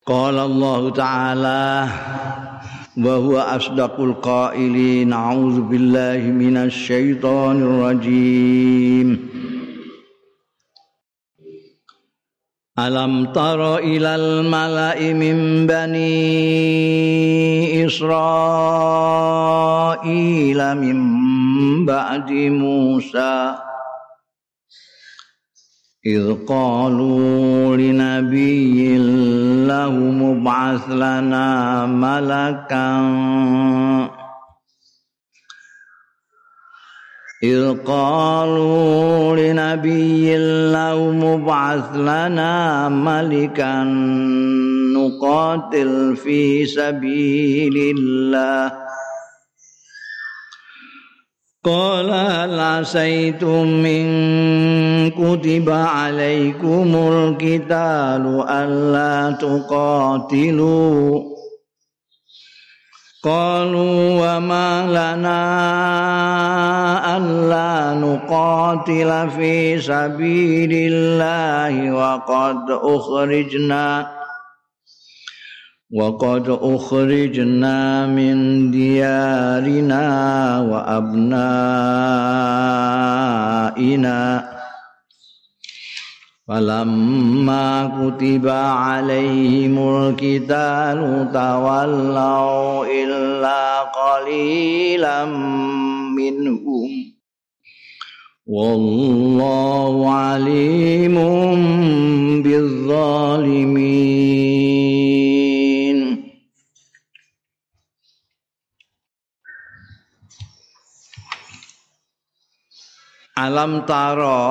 Qala Allah Ta'ala wa huwa asdaqul qailin a'udzu billahi minasy syaithanir rajim. Alam tara ilal mala'i min bani Israila min ba'di Musa idh qalu linabiyyin lahum ib'ats lana malakan إذ قالوا لنبي لهم ابعث لنا ملكا نقاتل في سبيل الله قال هل عسيتم إن كتب عليكم القتال ألا تقاتلوا قالوا وما لنا ألا نقاتل في سبيل الله وقد أخرجنا من ديارنا وأبنائنا فلما كتب عليهم القتال تولوا إلا قليلا منهم والله عليم بالظالمين. Alam taro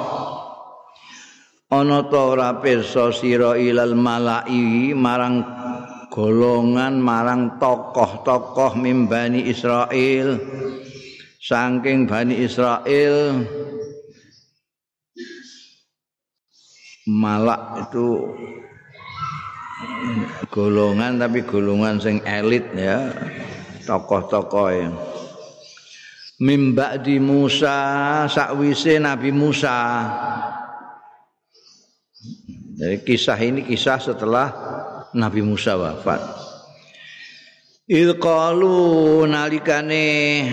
ana ta ora pirsa sira ilal mala'i marang golongan marang tokoh-tokoh mimbani Israil saking Bani Israil. Malak itu golongan tapi golongan sing elit ya, tokoh-tokoh ya. Mim ba'di Musa sakwise Nabi Musa. Jadi kisah ini kisah setelah Nabi Musa wafat. Idh qalu nalikane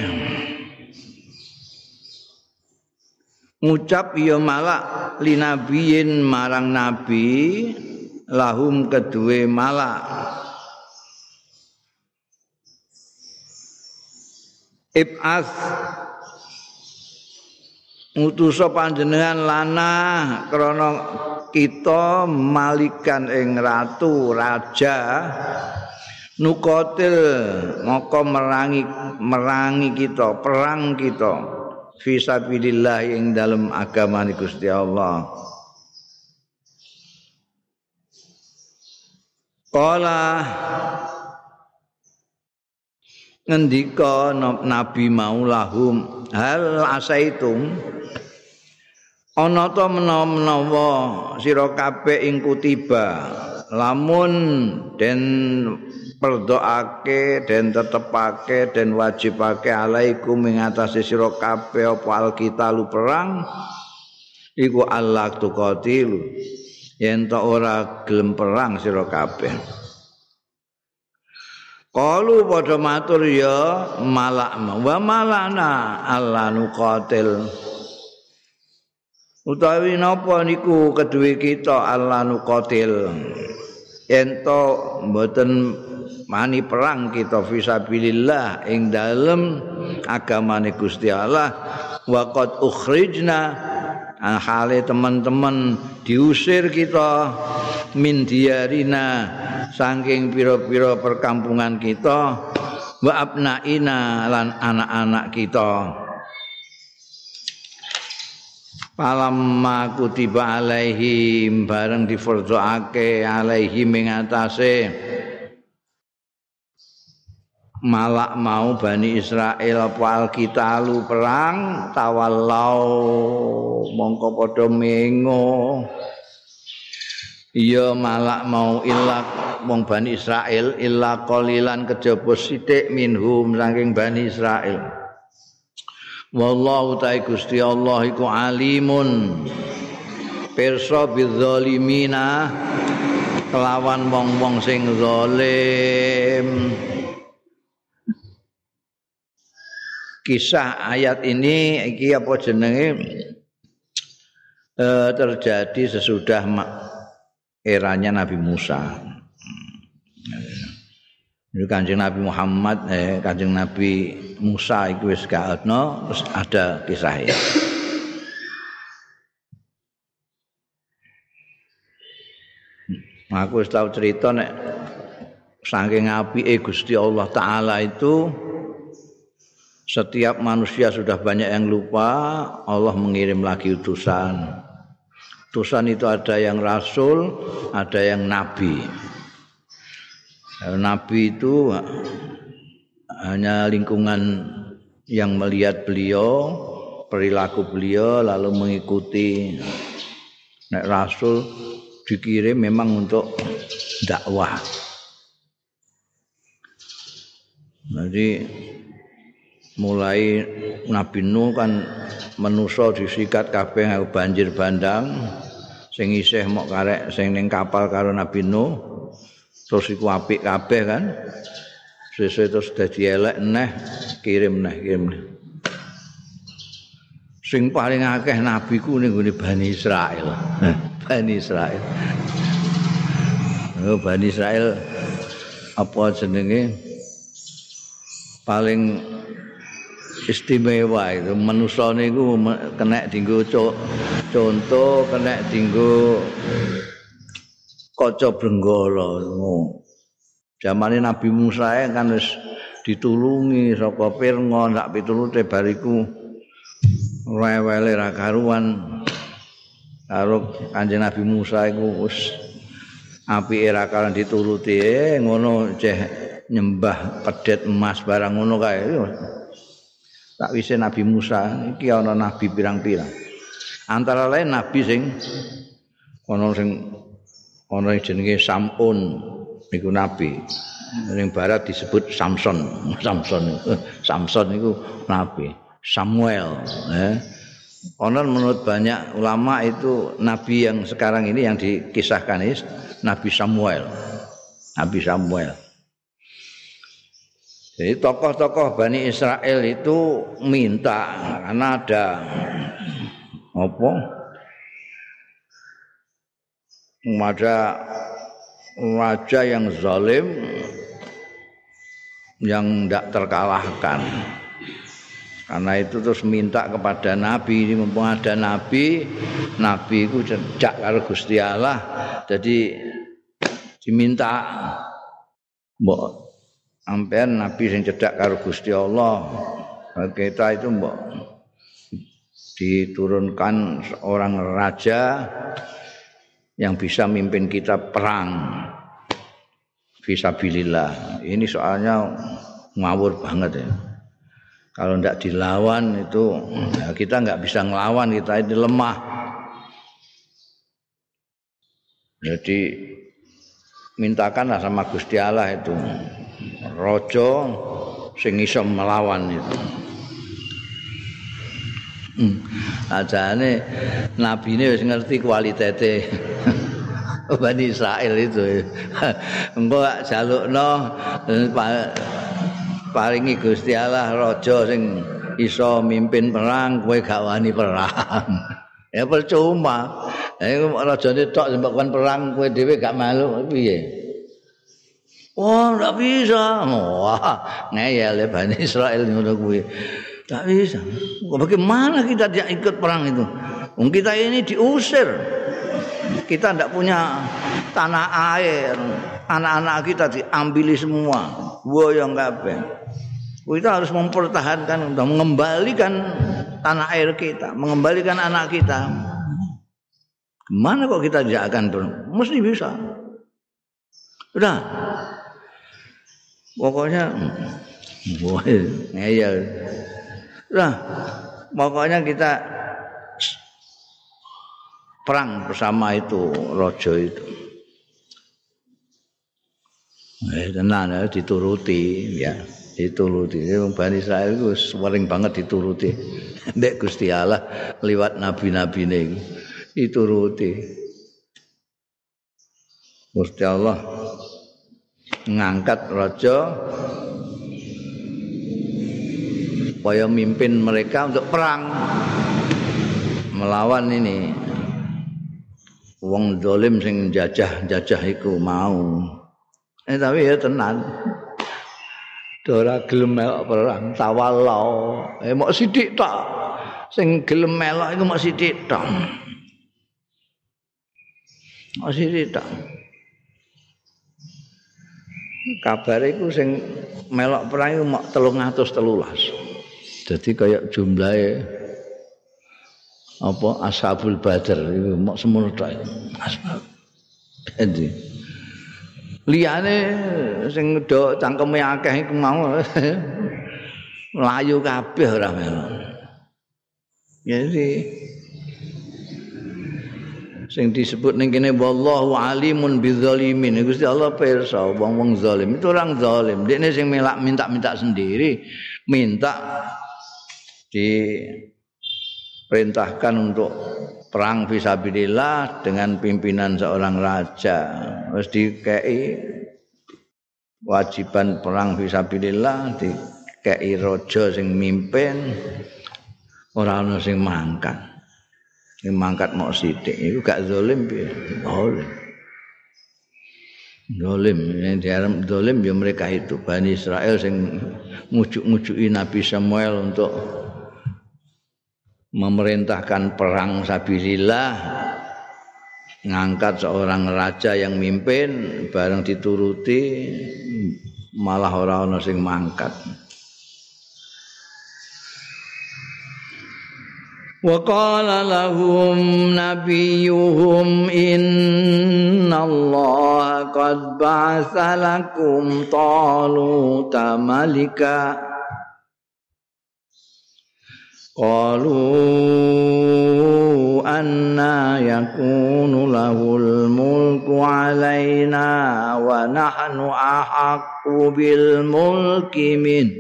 ngucap ya malak linabiyin marang nabi lahum kedue malak ib'ats ngutusa panjenengan lana krana kita malikan ing ratu raja nukotil moko merangi kita perang kita fisabilillah ing dalem agamane Gusti Allah. Qala ngendika nabi maulahum hal asaitum ana ta menawa sira kabeh ing kutiba lamun den perdoake den tetepake den wajibake alaikum ing atase sira kabeh apa alqitalu perang iku Allah tuqatilu yen ta ora gelem perang sira kabeh. Qalu padha matur ya malak wa malana Allah nuqatil utawi napa niku kedue kita Allah nuqatil ento mboten mani perang kita fisabilillah ing dalem agamane Gusti Allah wa qad ukhrijna hale teman-teman diusir kita min diyarina saking pira-pira perkampungan kita wa abnaina lan anak-anak kita. Palamma kutiba alaihim bareng difardhoake alaihim ing atase malak mau Bani Israil apa alqitalu perang tawallau mongko padha mengo iya malak mau illa wong Bani Israil illa qalilan kejaba sithik minhum saking Bani Israil. Wallahu ta'ala Gusti Allah iku alimun pirsa bizzalimina kelawan wong-wong sing zalim. Kisah ayat ini iki apa jenenge terjadi sesudah eranya Nabi Musa. Itu Kanjeng Nabi Muhammad, Kanjeng Nabi Musa iku wis gak ono, terus ada kisahnya. Aku wis tau cerita nek saking apike Gusti Allah Taala itu setiap manusia sudah banyak yang lupa, Allah mengirim lagi utusan. Utusan itu ada yang rasul, ada yang nabi. Nabi itu hanya lingkungan yang melihat beliau, perilaku beliau lalu mengikuti. Nek rasul dikirim memang untuk dakwah. Jadi mulai Nabi Nuh kan manusa disikat kabeh banjir bandang, sing isih mok karek sing ning kapal karo Nabi Nuh. Terus iku apik kabeh kan. Sesuk terus dadi elek neh, kirim neh. Sing paling akeh nabi ku ning gone Bani Israil. Bani Israil. Bani Israil apa jenenge? Paling istimewa itu manusa niku kena dienggo contoh, kena dienggo kaca brenggala. Zamane Nabi Musa kan wis ditulungi saka Fir'aun sak pitulute bariku rewele ra karuan karo Kanjeng Nabi Musa iku wis apike ra karuan dituruti ngono ceh nyembah pedet emas barang ngono kae. Sakwise Nabi Musa iki ana nabi pirang-pirang. Antara lain nabi sing ana jenenge Sam'un niku nabi. Ning barat disebut Samson niku nabi. Samuel, Konon menurut banyak ulama itu nabi yang sekarang ini yang dikisahkan ini Nabi Samuel. Nabi Samuel. Jadi tokoh-tokoh Bani Israel itu minta karena ada ada raja yang zalim yang tidak terkalahkan. Karena itu terus minta kepada Nabi, ini mumpung ada Nabi itu cedak karo Gusti Allah, jadi diminta mbok ampean Nabi sing cedak karo Gusti Allah. Kita itu mbok diturunkan seorang raja yang bisa mimpin kita perang fisabilillah. Ini soalnya ngawur banget ya. Kalau tidak dilawan itu ya kita nggak bisa ngelawan, kita ini lemah. Jadi mintakanlah sama Gusti Allah itu raja sing iso melawan itu. Ajane nabi ini wis ngerti kualitete Bani Israil itu. Engko gak jalukno paringi Gusti Allah raja sing iso mimpin perang, kowe gak wani perang. Ya percuma. Iku rajane tok sing kon perang, kowe dhewe gak malu piye? Oh, ndak bisa. Wah, ngeyel Bani Israil ngono kuwi. Tak bisa. Bagaimana kita tidak ikut perang itu? Kita ini diusir. Kita tidak punya tanah air. Anak-anak kita diambili semua. Boyong kabeh. Kita harus mempertahankan, mengembalikan tanah air kita, mengembalikan anak kita. Gimana kok kita tidak akan perang? Mesti bisa. Udah. Pokoknya ngeyel. Nah, pokoknya kita perang bersama itu raja itu. Tenan ya dituruti ya, dituruti. Bani Israil itu sering banget dituruti. Mbek Gusti Allah liwat nabi-nabine dituruti. Gusti Allah ngangkat raja supaya mimpin mereka untuk perang melawan ini wong zalim sing jajah iku mau. Tapi ya tenan. Ora gelem melok perang tawallau. Mok sithik tok. Sing gelem melok iku mok sithik tok. Mok sithik tok. Kabar iku sing melok perang iku mok 313. Jadi kayak jumlahe apa Ashabul Badar iku mok semono tok. Asbab. Jadi liyane sing do cangkeme akeh iku mau mlayu kabeh ora melok. Jadi sing disebut ning kene wallahu alimun bidzalimin. Gusti Allah pirsa wong-wong zalim itu orang zalim. Dekne sing minta-minta sendiri, minta diperintahkan untuk perang fisabilillah dengan pimpinan seorang raja. Wis dikei wajiban perang fisabilillah, dikei raja sing mimpin, ora ana sing mangkat. Sing mangkat mok sithik iku gak zalim piye? Zalim, yang diarep zalim ya mereka itu Bani Israel sing ngujuk-ngujuki Nabi Samuel untuk memerintahkan perang sabilillah, ngangkat seorang raja yang mimpin, bareng dituruti malah ora ana sing mangkat. Wa qala lahum nabiyuhum innallaha qad ba'atsa lakum taluta malika qalu anna yakunu lahul mulku alaina wa nahnu ahaqqu bil mulki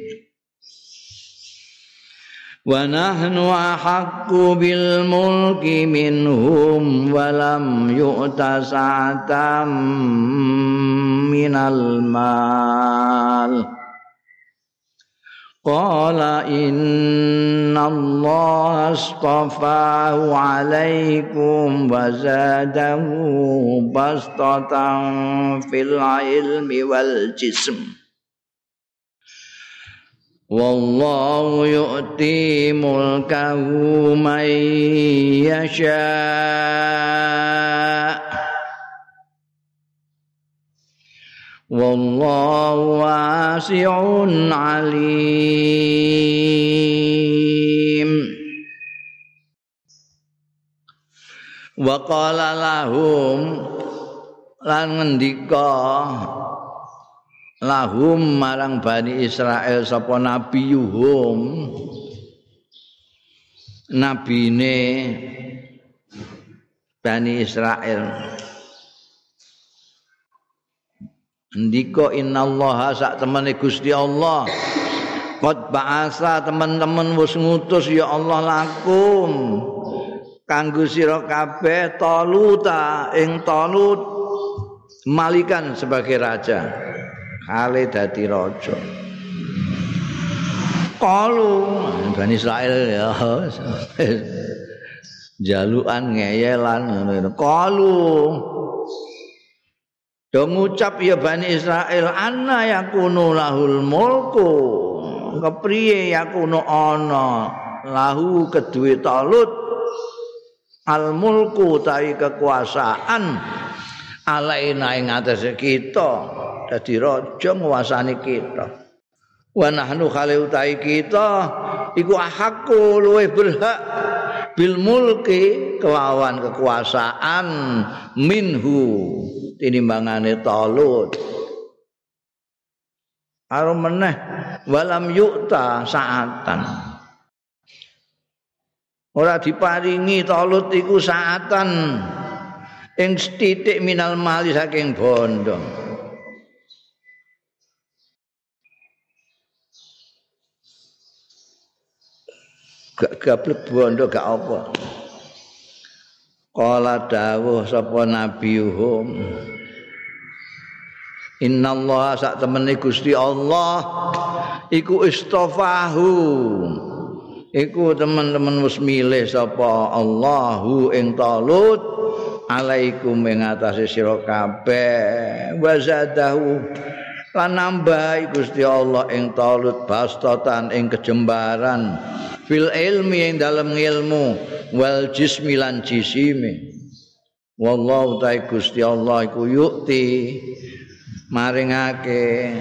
minhum wa lam yu'ta sa'atam minal mal. Qala inna Allah astafahu alaikum wa zadahu bastatan fil ilmi wal jism. Wallahu yu'ti mulkahu man yasha. Wallahu wasi'un alim. Wa qala lahum lan ngendika lahum marang Bani Israel sapa nabiyuhum nabine Bani Israel ndika innallaha sak temene Gusti Allah qad ba'asa teman-teman wis ngutus ya Allah lakum kanggo sira kabeh Taluta ing Talut malikan sebagai raja kale dadi raja. Qalu Bani Israil ya jalukan ngeyelan ngono. Qalu do ngucap ya Bani Israil anna yakunu lahul mulku. Kepriye yakunu ana lahu kedue Talut al mulku tawi kekuasaan alaina ing atase kita. Dadi raja nguasani kita. Wa nahnu khali utai kita iku ahakku luwih berhak bil mulki kelawan kekuasaan minhu tinimbangane Talut. Karo meneh walam yu'ta sa'atan. Ora diparingi Talut iku sa'atan ing sithik minal mali saking bondo. Gak gablek bondo gak apa. Qala dawuh sapa nabiyuhum Innallaha sak temene Gusti Allah iku istofahu. Iku teman-teman wis milih sapa Allahu ing Talut alaikum ing atase sira kabeh wa zadahu lan nambah Gusti Allah ing Talut bastatan ing kejembaran fil ilmi ing dalem ilmu wal jismi lan jisime. Wallahu ta'ala Gusti Allah iku yukti maringake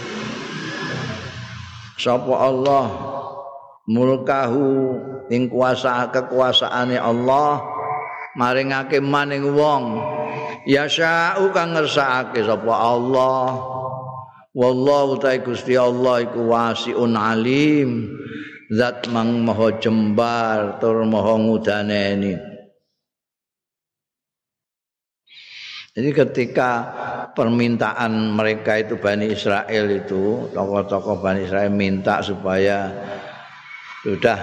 sapa Allah mulkahu ing kuasa kekuasaane Allah maringake maning wong yasha'u kang ngersakake sapa Allah. Wallahu ta'ala Gusti Allah iku wasi'un alim zat mang maha jembar tur maha ngudaneni. Jadi ketika permintaan mereka itu Bani Israel itu, tokoh-tokoh Bani Israel minta supaya sudah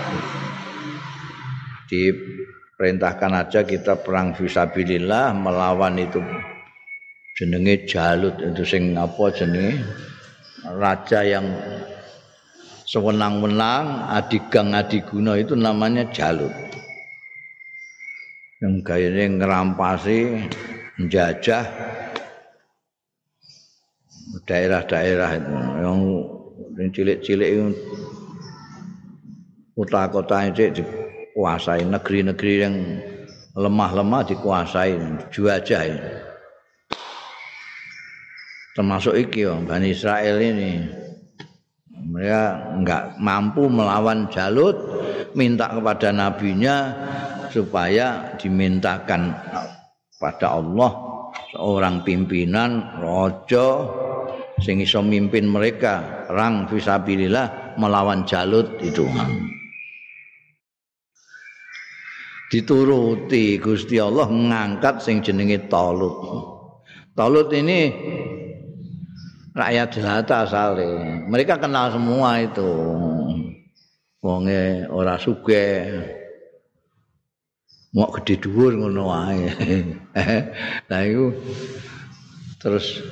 diperintahkan aja kita perang fisabilillah melawan itu jenenge Jalut itu sing apa jenenge raja yang sewenang-wenang adigang adiguna itu namanya Jalut. Yang gayane ngerampasi menjajah daerah-daerah itu yang cilik-cilik itu kota-kota itu dikuasai, negeri-negeri yang lemah-lemah dikuasai, dijajah. Termasuk iki Bani Israel ini. Mereka enggak mampu melawan Jalut, minta kepada nabinya supaya dimintakan pada Allah seorang pimpinan raja sing iso mimpin mereka perang fisabilillah melawan Jalut itu. Dituruti Gusti Allah ngangkat sing jenenge Talut. Talut ini rakyat jelata asale. Mereka kenal semua itu. Wonge ora sugih. Mau gede dhuwur ngono wae. Lah iku terus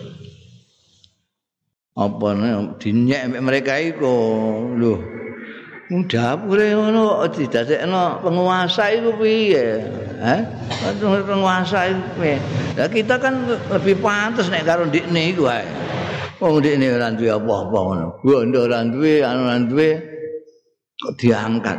apa dinyek mereka iku lho. Dapure ngono didadekno penguasa iku piye? Penguasa iku piye? Lah kita kan lebih pantes nek karo ndikne iku wae. Wong ndikne ora duwe apa-apa ngono. Bondo ora duwe, anu ora duwe kok diangkat.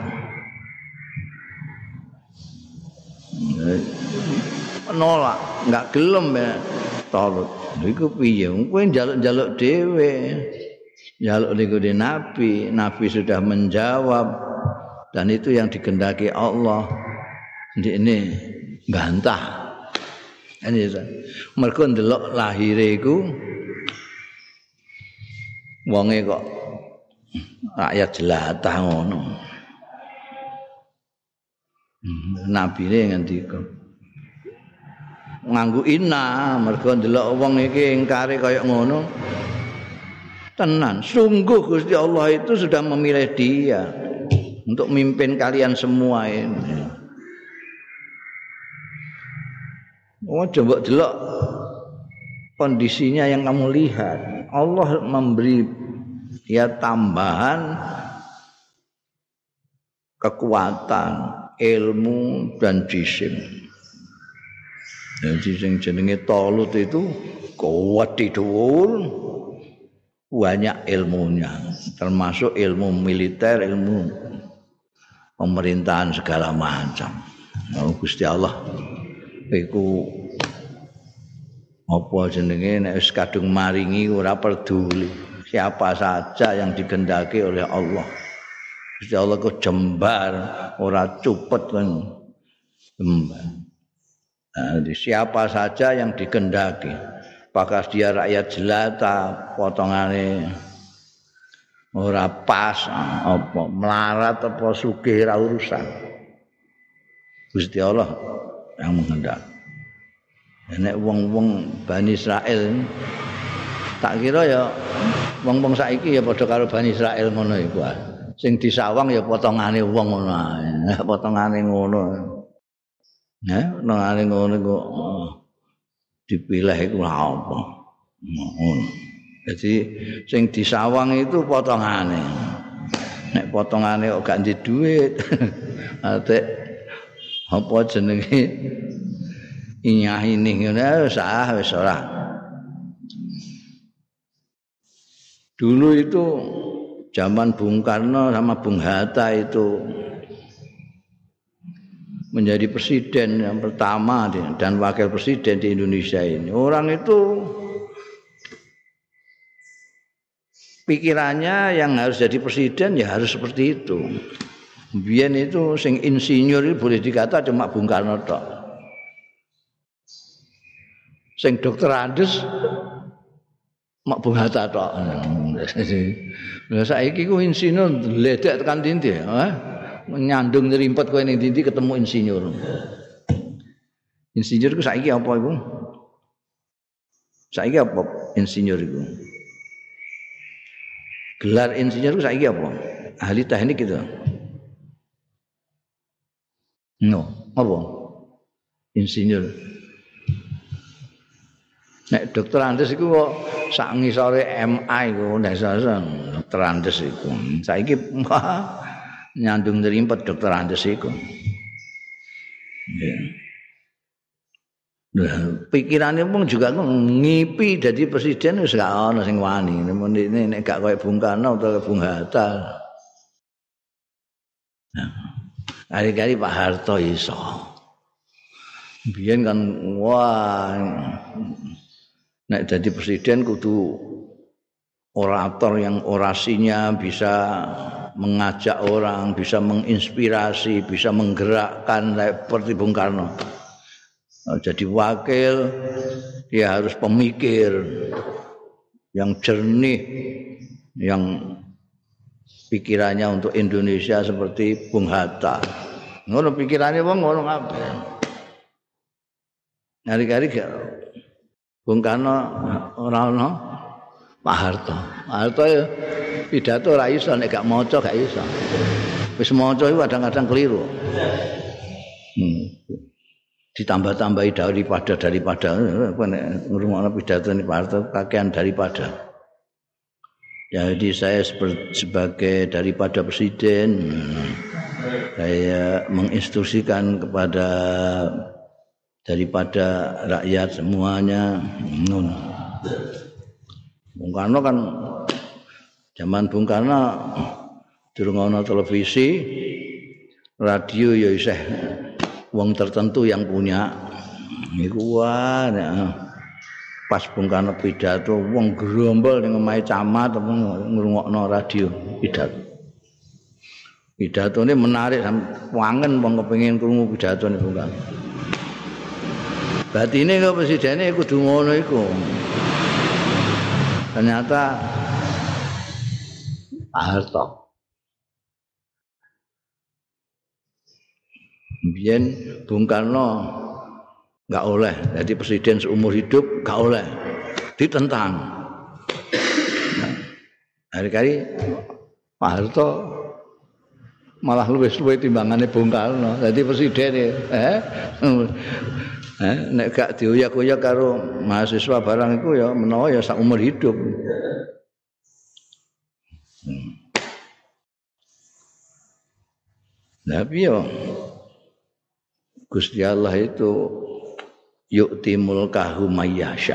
Nolak, enggak gelem ya Talut. Iku piye? Kowe njaluk-njaluk dhewe. Njaluk niku Nabi, Nabi sudah menjawab dan itu yang dikehendaki Allah. Ndekne gantah. Ini mergo ndelok lahire iku wonge kok rakyat jelatah ngono. Nabine ngendika nganggo inna mergo ndelok wong iki ingkare kaya ngono. Tenan, sungguh Gusti Allah itu sudah memilih dia untuk memimpin kalian semua ini. Oh, coba delok kondisinya yang kamu lihat. Allah memberi dia tambahan kekuatan, ilmu dan jisim. Jadi sing jenenge Talut itu kuat dhuwur, banyak ilmunya, termasuk ilmu militer, ilmu pemerintahan segala macam. Oh, Gusti Allah iku apa jenenge nek wis kadung maringi ora peduli siapa saja yang dikehendaki oleh Allah. Gusti Allah kok jembar ora cupet kan. Jembar. Siapa saja yang dikehendaki. Apakah dia rakyat jelata, potongane ora pas, apa melarat apa sugih ora urusan. Gusti Allah yang menghendaki. Nek wong-wong Bani Israel tak kira ya wong-wong saiki ya padha karo Bani Israel ngono iku. Sing disawang ya potongane wong ngono ae. Potongane ngono. Potongane ngono kok dipilih iku apa. Jadi sing disawang itu potongane. Nek potongane kok gak ndek dhuwit. Atek apa jenenge inyah ini ngene wis ora. Dulu itu zaman Bung Karno sama Bung Hatta itu menjadi presiden yang pertama dan wakil presiden di Indonesia ini. Orang itu pikirannya yang harus jadi presiden ya harus seperti itu. Biyen itu sing insinyur itu boleh dikata cuma Bung Karno tok. Sing dokter Andes mak Bung Hatta tok. Lah saiki ku insinyur ledek tekan ndi nyandung nyerimpet kowe ning ndi ketemu insinyur. Insinyur ku saiki apa iku? Saiki apa insinyur iku? Gelar insinyur ku saiki apa? Ahli teknik gitu. No, apa? Insinyur. Nek dokter Andes iku kok sak ngisore MA iku nek dokter Andes iku. Saiki nyandung ngrimpet dokter Andes iku. Ya. Nah, pikirane pun juga ngipi dadi presiden wis gak ana sing wani. Nek gak koyo Bung Karno utawa Bung Hatta. Nah, hari-hari Pak Harto iso. Biyen kan wah nek jadi presiden kudu orator yang orasinya bisa mengajak orang, bisa menginspirasi, bisa menggerakkan seperti Bung Karno. Jadi wakil dia harus pemikir yang jernih, yang pikirannya untuk Indonesia seperti Bung Hatta. Ngono pikirannya wong ngono kabeh. Hari-hari Bung Karno ora ono Pak Harto. Pak Harto ya pidato ora iso nek gak maca gak iso. Wis maca iku kadang-kadang keliru. Ditambah-tambahi daripada apa nek ngrungokno pidato Pak Harto kakean daripada. Jadi saya sebagai daripada presiden saya menginstruksikan kepada daripada rakyat semuanya. Bung Karno kan zaman Bung Karno durung ana televisi, radio ya isih wong tertentu yang punya. Iku pas Bung Karno pidato wong gerombol ning omahe camat ngrungokno radio pidato. Pidatone menarik wangen wong kepengin krungu pidatone Bung Karno. Batine kok presidene kudu ngono iku. Ternyata Pak Harto. Biyen Bung Karno enggak oleh jadi presiden seumur hidup, enggak oleh. Ditentang. Hari-hari Pak Harto malah luwih-luwih timbangane Bung Karno dadi presiden nek gak dioyak-oyak karo mahasiswa barang iku ya menawa ya sak umur hidup. Tapi ya Gusti Allah itu yu'ti mulkahu mayyasha.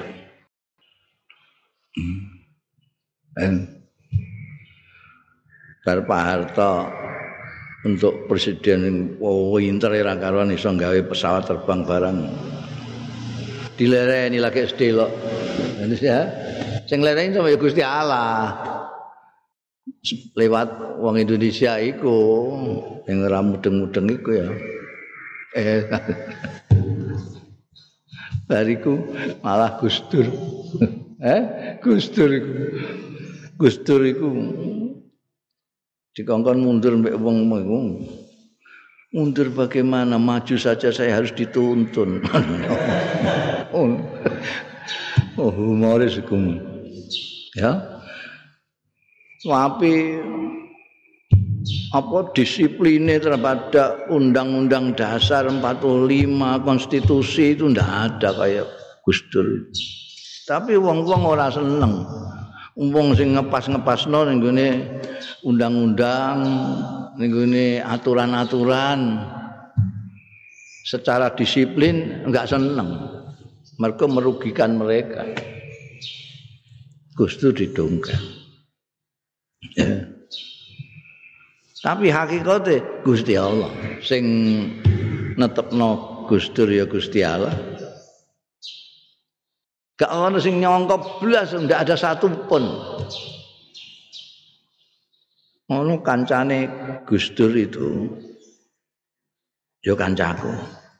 Bar Pak Harto untuk presiden winter era karuan iso gawe pesawat terbang barang. Dilereni lagi sedelok. Ya. Sing lereni sama ya Gusti Allah. Lewat wong Indonesia iku sing ora mudeng-mudeng iku ya. Bariku malah Gusdur. Gusdur iku. Gusdur iku dikongkon mundur mbek wong iku. Mundur bagaimana? Maju saja saya harus dituntun. Oh, humoris iku. Ya. Tapi apa disipline terhadap Undang-Undang Dasar 45 konstitusi itu ndak ada kayak Gus Dur. Tapi wong-wong ora seneng. Wong sing ngepas-ngepasno ning gone undang-undang, ning gone aturan-aturan secara disiplin enggak seneng. Mergo merugikan mereka. Gus Dur didongkrak. Ya. Tapi hakikate Gusti Allah sing netepno Gus Dur ya Gusti Allah. Gak ono sing nyongkok blas, ndak ada satu pun. Ono kancane Gus Dur itu, yo kancaku.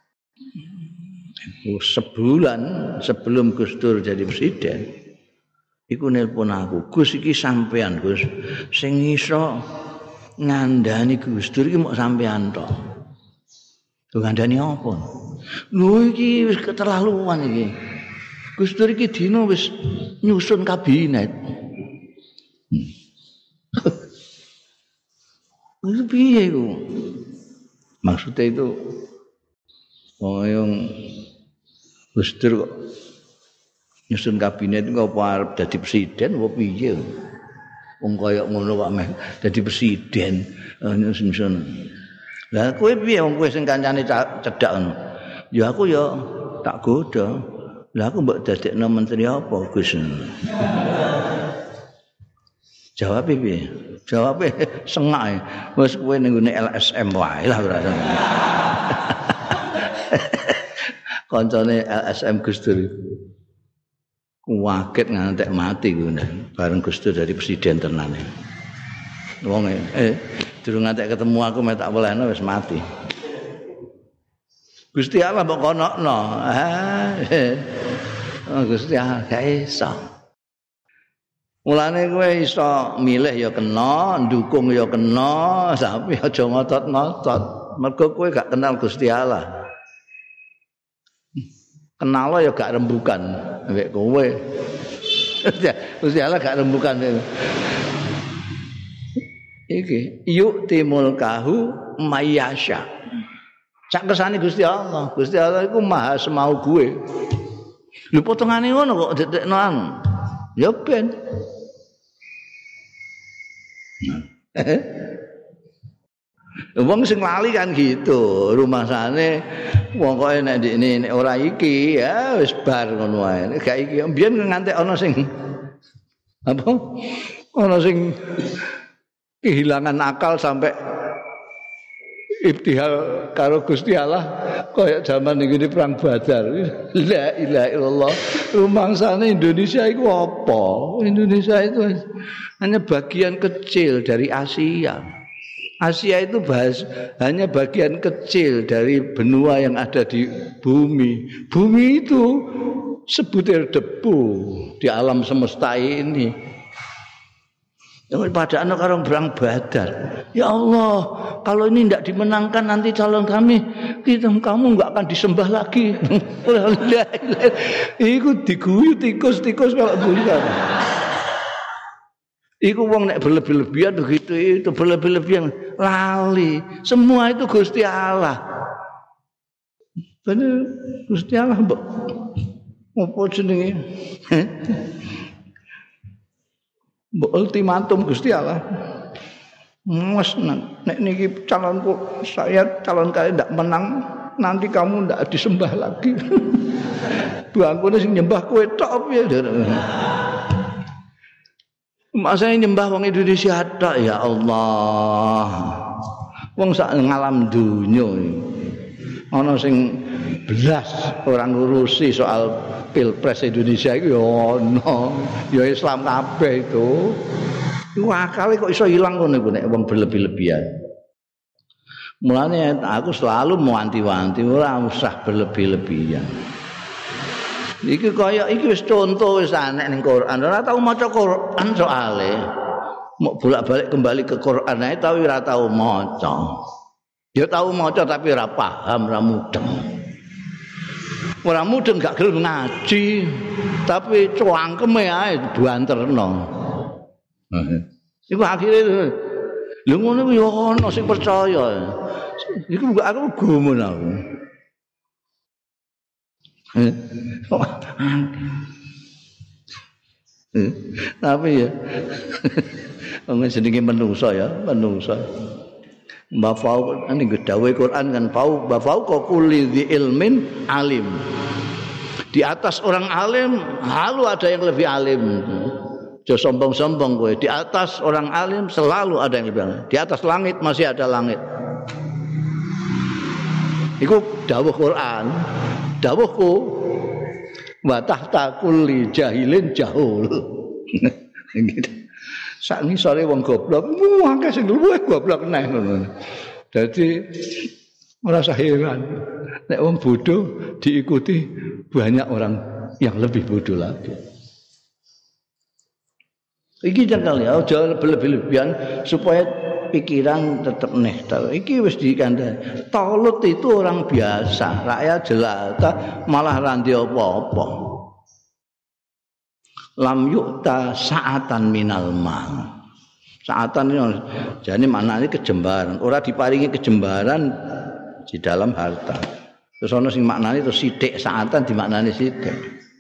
Sebulan sebelum Gus Dur jadi presiden, iku nelpon aku, Gus iki sampean Gus, sing iso ngandani Gus Dur iki mok sampean tok. Lho ngandani apa? Lho iki wis keterlaluan iki. Gus Dur iki dino wis nyusun kabinet. Itu piye iku? Maksudnya itu yang Gus Dur kok nyusun kabinet kok arep dadi presiden apa piye? Wong kaya ngono kok meh dadi presiden nyusun. Lah kowe piye wong kowe sing kancane cedhak ngono? Ya aku ya tak goda. Lah aku mbok dadekno menteri apa, Gus? Jawab piye? Jawabe sengak. Wis kowe ning ngene LSM wae lah ora. Kancane LSM Gus Dur. Waget ngantek mati ngono. Bareng Gus Dur dari presiden tenan. Wong durung ngantek ketemu aku mek tak welehno wis mati. Gusti Allah mbok konokno. Gusti Allah gak iso. Mulane kowe iso milih ya kena, ndukung ya kena, tapi aja ngotot-ngotot. Mergo kowe gak kenal Gusti Allah. Kenal ya gak rembukan mek kowe. Gusti Allah gak rembukan. Iki yu'timul kahu mayyasha. Sak kersane Gusti Allah. Gusti Allah iku maha semau gue. Lho potongane ngono kok dedekno anu. Ya ben. Wong sing lali kan gitu. Rumasane wong kok nek nek ora iki ya wis bar ngono wae. Nek gak iki mbiyen ngantek ana sing apa? Ana sing kehilangan akal sampai ibtihal karo Gusti Allah kaya zaman iki perang Badar. La ilaha illallah. Rumangsane Indonesia itu apa? Indonesia itu hanya bagian kecil dari Asia. Asia itu hanya bagian kecil dari benua yang ada di bumi. Bumi itu sebutir debu di alam semesta ini. Yang pada anak orang perang Badar. Ya Allah, kalau ini tidak dimenangkan nanti calon kami, kamu nggak akan disembah lagi. Iku diguyu tikus kalau bukan. Iku wong nek berlebih-lebihan begitu itu berlebih-lebihan lali. Semua itu Gusti Allah. Bener Gusti Allah mbok. Apa jenenge? Mbok ultimatum Gusti Allah. Mas nek niki calonku saya calon kalian ndak menang nanti kamu ndak disembah lagi. Bangkune sing nyembah kowe tok piye? Masa nyembah wong Indonesia tok ya Allah. Wong sak ngalam donya ana sing belas orang ngurusi soal Pilpres Indonesia itu ya ono, ya Islam kabeh itu. Iku akale kok iso ilang ngono iku nek wong berlebih-lebihan. Mulane aku selalu mewanti-wanti ora usah berlebih-lebihan. Iki kaya iki wis contoh wis anek ning Quran. Ora tau maca Quran soalé. Mok bolak-balik kembali ke Quran ae tapi ora tau maca. Ya tau maca tapi ora paham, ora mudeng. Ora mudeng gak gelem ngaji, tapi cuangkeme ae banterno. Iku akhire lho ngono ku ya ana sing percaya. Iku aku gumun aku. Tapi ya wong jenenge menungso ya, menungso. Mbafau ning dawuhe Quran kan bafau kulli di ilmin alim. Di atas orang alim, selalu ada yang lebih alim. Jangan sombong-sombong kowe. Di atas orang alim selalu ada yang lebih alim. Di atas langit masih ada langit. Iku dawuh Quran. Dawuhku wa tahta kulli jahilin jahul. Gitu. Sak ngisore wong goblok, akeh sing luwih goblok neh ngono. Dadi ora usah heran. Nek wong bodoh diikuti banyak orang yang lebih bodoh lagi. Iki jangan ya, aja lebih-lebihan supaya pikiran tetap nehtar. Iki wis dikandani. Talut itu orang biasa, rakyat jelata malah randi apa-apa. Lam yukta sa'atan minal mal. Sa'atan ini jadi maknanya kejembaran. Ora diparingi kejembaran di dalam harta. Terus ana sing maknane terus sithik sa'atan dimaknani sithik.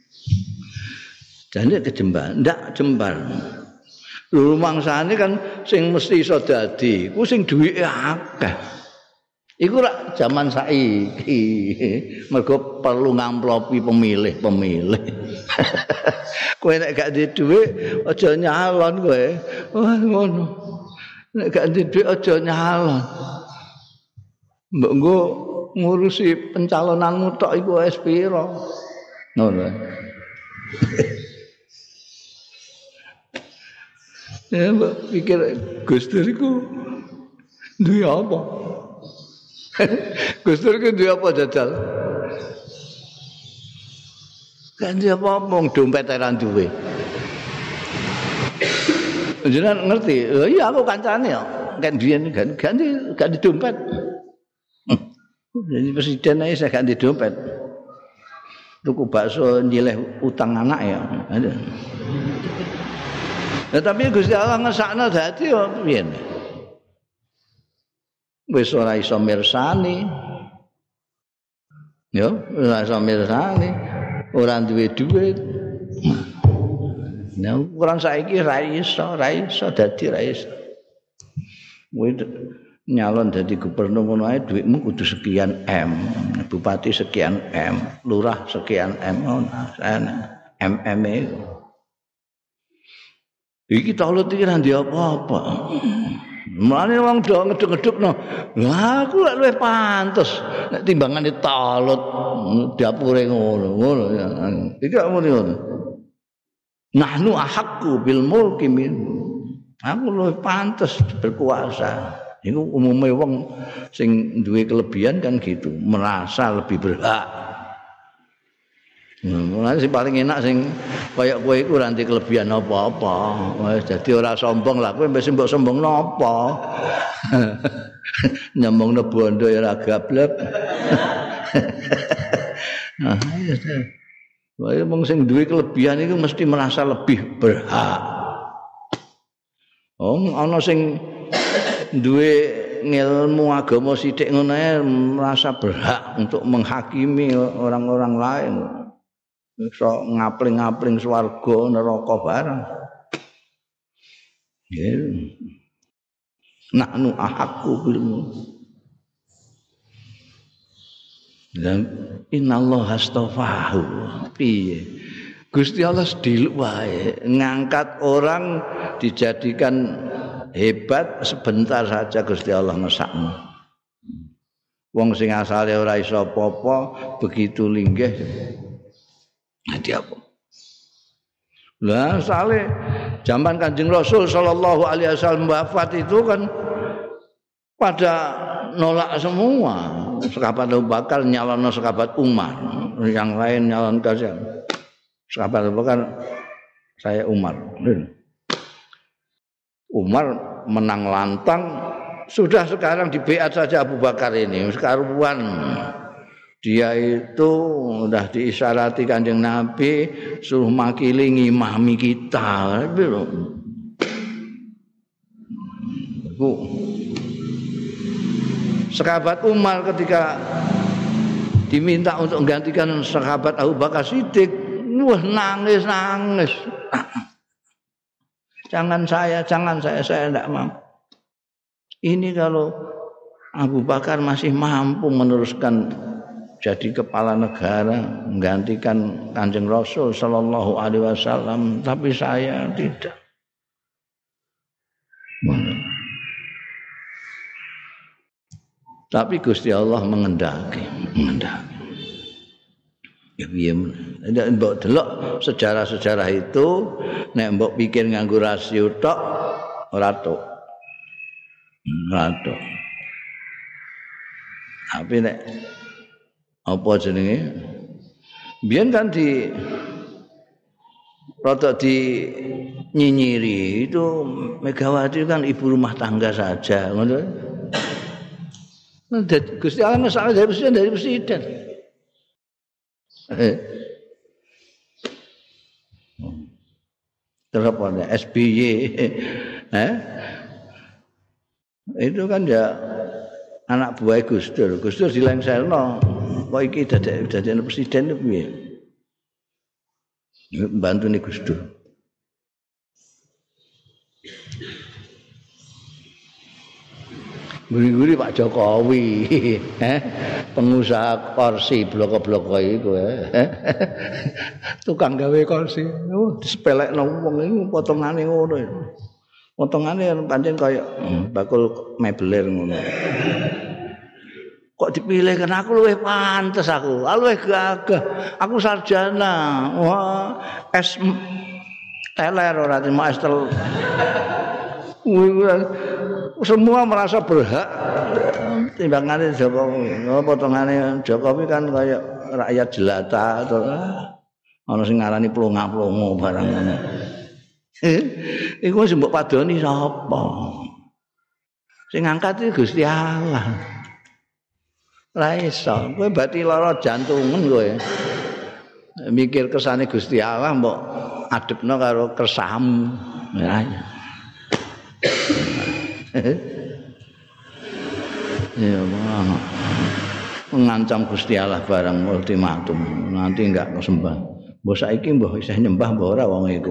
Jadi kejembaran, ndak jembar. Lho mangsane kan sing mesti iso dadi, ku sing duwike akeh. Iku rak jaman saiki. Mergo perlu ngamplopi pemilih. Kowe nek gak duwe dhuwit aja nyalon kowe. Wah ngono. Nek gak duwe dhuwit aja nyalon. Mbok nggo ngurusi pencalonanmu tok iku wis pira. Ngono. Ya mbok pikir Gus Dur iku duwe apa? Gus Dur iku duwe apa jajal? Kan dia ngomong dompet ora duwe. Jenengan ngerti? Oh iya aku kancane ya. Kan biyen ganti dompet. Jadi presiden ae saya ganti dompet. Tuku bakso nyileh utang anak ya. Ada. Nah, tapi Gusti Allah ngesakno dadi yo piye? Wis ora iso mirsani. Yo, ora iso mirsani. Ora duwe dhuwit. Nah, ukuran saiki ra iso dadi ra iso. Kowe nyalon dadi gubernur ngono ae dhuwitmu kudu sekian M, bupati sekian M, lurah sekian M ngono. MM e. Iki talut iki ra ndek apa-apa. Mulane wong do ngeduk-ngedukno. Lah aku lek luwih pantes nek timbangane talut dapure ngono ya. Iki kok ngono. Nahnu ahaqqu bil mulki min. Aku luwih pantes berkuasa. Iku umume wong sing duwe kelebihan kan gitu, merasa lebih berhak. Mulane sing paling enak sing kaya kowe iku ora ndek kelebihan apa-apa. Wis dadi ora sombong lah, kowe mbok sombong napa? Nyambungno bondo ya ora gablek. Nah, ya wong sing duwe kelebihan iku mesti merasa lebih berhak. Ana sing duwe ngilmu agama sithik ngono ae merasa berhak untuk menghakimi orang-orang lain. Iso ngapling-ngapling swarga neraka barang. Ya. Nahnu ahaqqu bil dan innallaha astafahu. Piye? Gusti Allah sediluk wae ngangkat orang dijadikan hebat sebentar saja Gusti Allah ngesakno. Wong sing asale ora iso apa-apa begitu linggih dadi apa? Lah sale zaman Kanjeng Rasul sallallahu alaihi wasallam wafat itu kan pada nolak semua. Sahabat Abu Bakar nyalonno sahabat Umar, yang lain nyalon siapa? Sahabat Abu Bakar saya Umar. Umar menang lantang, sudah sekarang di beat saja Abu Bakar ini sekaruan. Dia itu udah diisyarati Kanjeng Nabi suruh makili ngimami kita. Sahabat Umar ketika diminta untuk menggantikan sahabat Abu Bakar Siddiq, wah nangis. Jangan saya tidak mampu. Ini kalau Abu Bakar masih mampu meneruskan jadi kepala negara, menggantikan Kanjeng Rasul sallallahu alaihi wasallam, tapi saya tidak. Tapi Gusti Allah mengendaki. Ya piye nek mbok delok sejarah-sejarah itu nek mbok pikir nganggo rasio tok ora tok. Tapi nek apa jenenge? Biyen kan rada nyinyiri itu Megawati kan ibu rumah tangga saja, ngono. Gusti Allah masalah dari presiden. Terus apa nih? SBY, itu kan ya anak buah Gus Dur dilengserno, kok iki dadi presiden itu piye? Bantu nih Gus Dur. Guri-guri Pak Jokowi, pengusaha kursi blok-blok iku, tukang gawe kursi, disepelekno wong iku potongane ngono. Potongane pancen kaya bakul mebeler ngono. Kok dipilih kan aku luwih pantes aku, luwih gagah. Aku sarjana. Wah, S teler ora terima S tel. Semua merasa berhak timbangannya Jokowi. Potongannya Jokowi kan kayak rakyat jelata atau ana sing ngarani plonga-plongo barang ngono. Iku sing mbok padoni sapa? Sing ngangkat iki Gusti Allah. Ora iso. Kowe bati lara jantungan kowe. Mikir kesane Gusti Allah mbok adepno karo kersamu. Ya. Ya Allah. Mengancam Gusti Allah barang ultimatum. Nanti enggak sembah. Mbok saiki mbok isih nyembah mbok ora wong iku.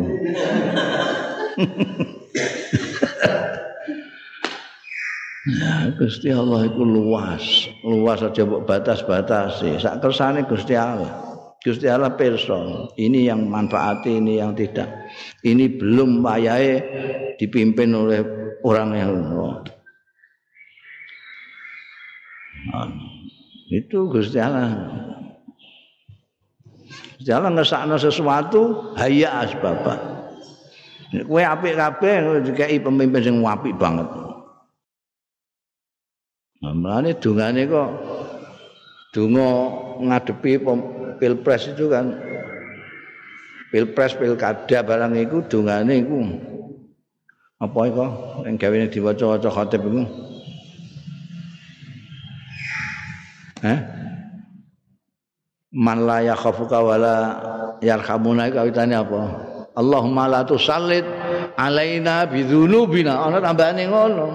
Ya Gusti Allah iku luas aja mbok batas-batasi. Sak kersane Gusti Allah. Gusti Allah pirsa. Ini yang manfaati, ini yang tidak. Ini belum wayahe dipimpin oleh orang yang itu Gusti Allah. Gusti Allah ngesakno sesuatu hayya asbaba. Kowe apik kabeh dikai pemimpin sing apik banget. Mulane dungane kok donga ngadepi pilpres itu kan pilpres pilkada barang iku dungane iku apa iku sing gawene diwaca-waca khatib iku man la yakhafuka wala yarhamuna kawitane apa Allahumma la tusallit alaina bidzunubina ana tambahane ngono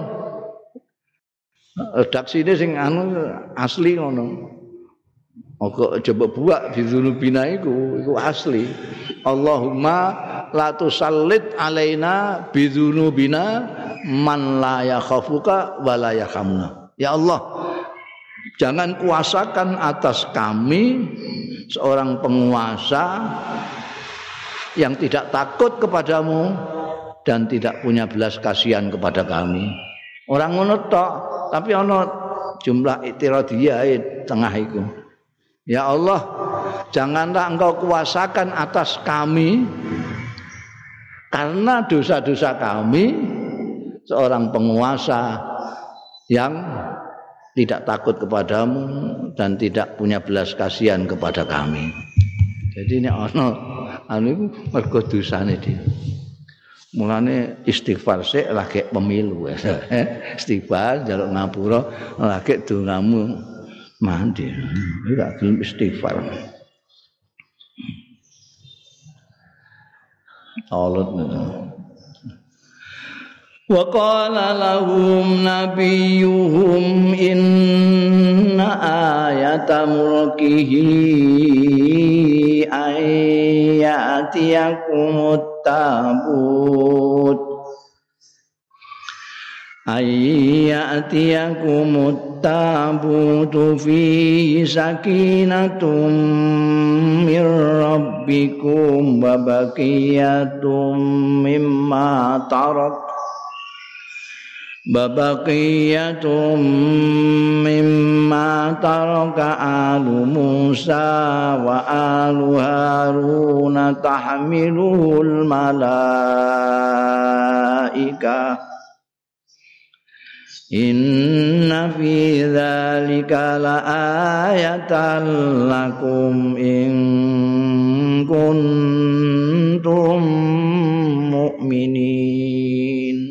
redaksine sing asli ngono. Oke coba buak bidzunubina iku asli. Allahumma la tusallit alaina bidzunubina man la yakhafuka wa la yarhamuna. Ya Allah, jangan kuasakan atas kami seorang penguasa yang tidak takut kepadamu dan tidak punya belas kasihan kepada kami. Orang ngono tok, tapi ana jumlah itiradiyah tengah iku. Ya Allah, janganlah Engkau kuasakan atas kami karena dosa-dosa kami seorang penguasa yang tidak takut kepadamu dan tidak punya belas kasihan kepada kami. Jadi ini anu mergo dosane dhewe. Mulane istighfar sik lagi pemilu. Istighfar njaluk ngapura lagi dongamu mandi. Enggak gelem istighfar. Allah. Wa qala lahum nabiyuhum inna ayata mulkihi ayatiyakumut tabut ayyatiyakumut tabutu fi sakinatum mir rabbikum wa baqiyatum mimma tarak babaqiyatum mimma taraka alu Musa wa alu Harun tahmiluhul malaika inna fi dzalika laayatan lakum in kuntum mu'minin.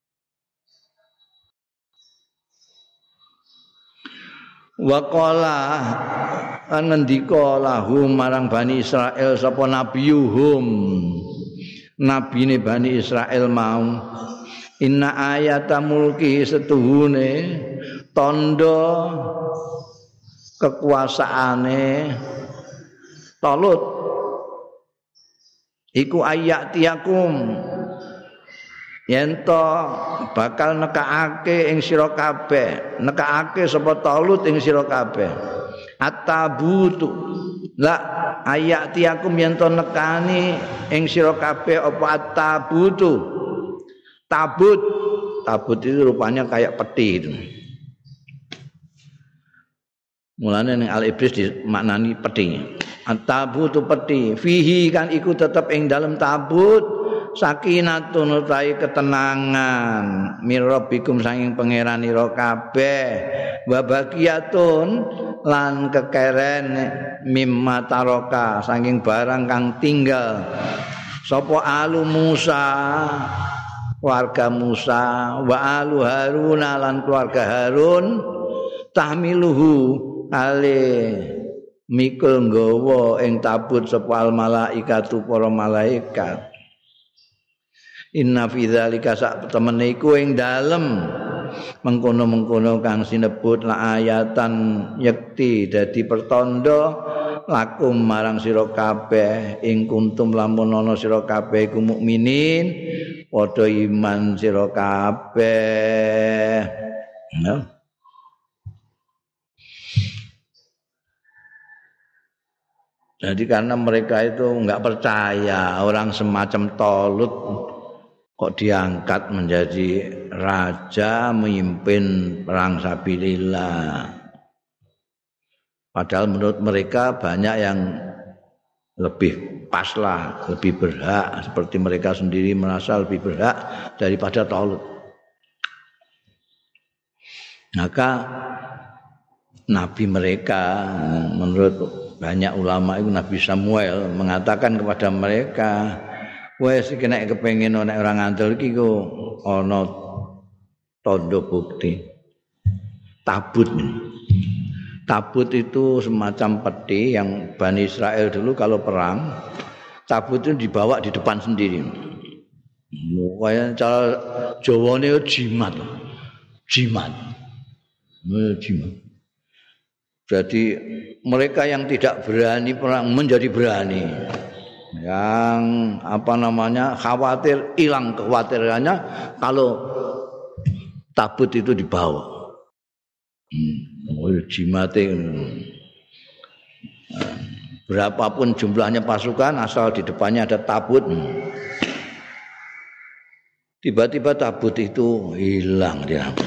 Waqala lan ngendika lahum marang Bani Israil sapa nabiyuhum nabine Bani Israil mau inna ayata mulki setuhune tanda kekuasaane Talut iku ayatiyakum yen to bakal nekakake ing sira kabeh nekakake sapa Talut ing sira kabeh at-tabutu la ayatiyakum yen to nekani ing sira kabeh apa at-tabutu tabut itu rupanya kayak peti itu mulane ning al-ibris dimaknani peti at-tabutu peti fihi kan iku tetep ing dalem tabut sakinatun utawi ketenangan mirabbikum saking pangeranira kabeh wa baqiyatun lan kekeren mimma taraka saking barang kang tinggal sapa alu Musa keluarga Musa wa alu Harun lan keluarga Harun tahmiluhu ale mikul nggawa ing tabut sapa al malaikatu para malaikat. Inna fi dzalika sak temene iku ing dalem mengkono-mengkono kang sinebut la ayatan yekti dadi pertanda lakum marang sira kabeh ing kuntum lamun ana sira kabeh iku mukminin padha iman sira kabeh. Ya. Jadi karena mereka itu enggak percaya orang semacam Talut kok diangkat menjadi raja memimpin perang sabilillah. Padahal menurut mereka banyak yang lebih pas lah, lebih berhak seperti mereka sendiri merasa lebih berhak daripada Talut. Maka nabi mereka menurut banyak ulama itu Nabi Samuel mengatakan kepada mereka, wes iki nek kepengin nek ora ngandel iki ku ana tanda bukti. Tabut itu semacam peti yang Bani Israel dulu kalau perang, tabut itu dibawa di depan sendiri. Kayak cara Jawane jimat. Jadi mereka yang tidak berani perang menjadi berani. Yang khawatir hilang kekhawatirannya kalau tabut itu dibawa. Jimate berapapun jumlahnya pasukan asal di depannya ada tabut. Tiba-tiba tabut itu hilang.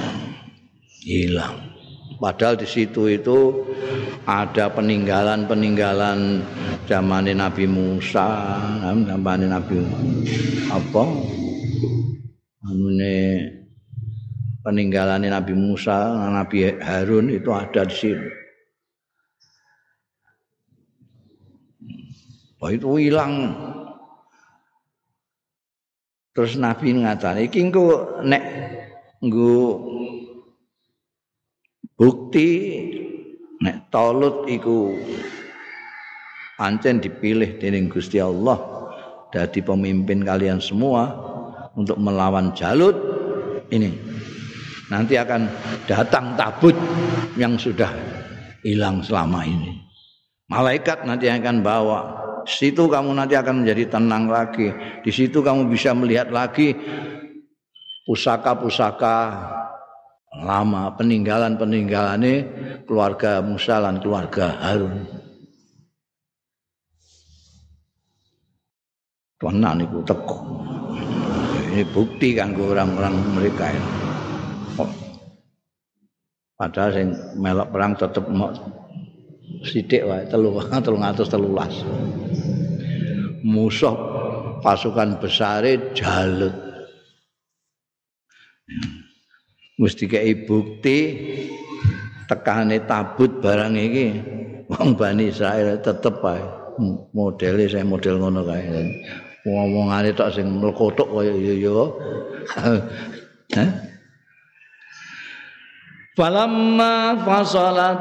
Padahal di situ itu ada peninggalan zaman Nabi Musa, zaman Nabi peninggalan Nabi Musa, Nabi Harun itu ada di sini. Itu hilang. Terus Nabi ngatakan, iki engko nek nggo bukti nek Talut iku pancen dipilih dening Gusti Allah dadi pemimpin kalian semua untuk melawan Jalut ini. Nanti akan datang tabut yang sudah hilang selama ini. Malaikat nanti akan bawa. Di situ kamu nanti akan menjadi tenang lagi. Di situ kamu bisa melihat lagi pusaka-pusaka lama, peninggalan-peninggalane keluarga Musa lan keluarga Harun. Tenan niku teko. Ini bukti kanggo orang-orang mereka ini. Padahal sing melok perang tetep sithik wae 313. Musuh pasukan besare Jalut. Mesti kei bukti tekane tabut barang iki wong Bani Israil tetep wae modele saya model ngono kae. Wong-wongane tok sing mlekotok kaya ya. Falamma fasala